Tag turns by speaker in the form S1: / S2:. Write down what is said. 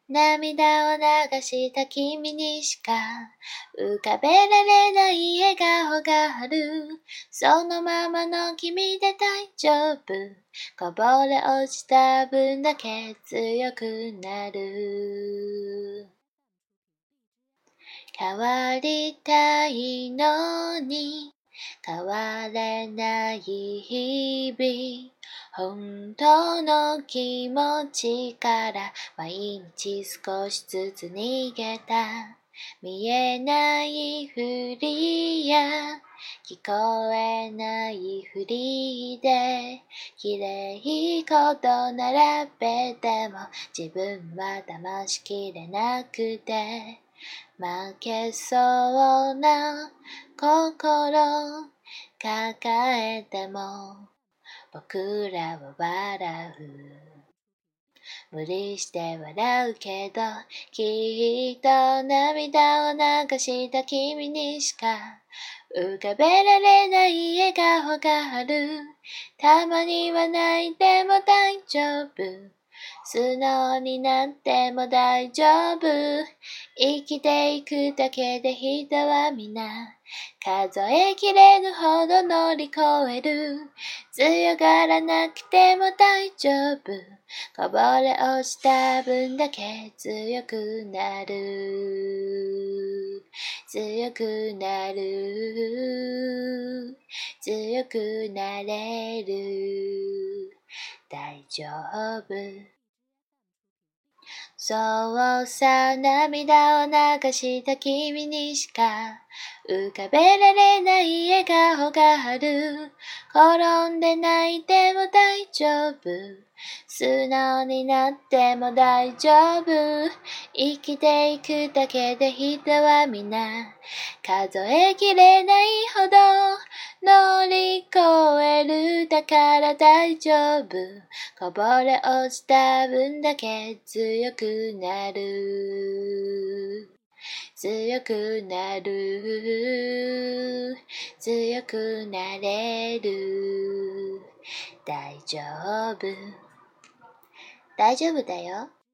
S1: 涙を流した君にしか浮かべられない笑顔がある。そのままの君で大丈夫。こぼれ落ちた分だけ強くなる。変わりたいのに変われない日々。本当の気持ちから毎日少しずつ逃げた。見えないふりや聞こえないふりで綺麗こと並べても自分は騙しきれなくて負けそうな心抱えても僕らは笑う。無理して笑うけどきっと涙を流した君にしか浮かべられない笑顔がある。たまには泣いても大丈夫。素直になっても大丈夫。生きていくだけで人は皆数えきれぬほど乗り越える。強がらなくても大丈夫。こぼれ落ちた分だけ強くなる。強くなる。強くなれる。大丈夫。そうさ、涙を流した君にしか浮かべられない笑顔がある。転んで泣いても大丈夫。素直になっても大丈夫。生きていくだけで人は皆数えきれないほど乗り越える。だから大丈夫。こぼれ落ちた分だけ強くなる。強くなる。強くなれる。大丈夫。大丈夫だよ。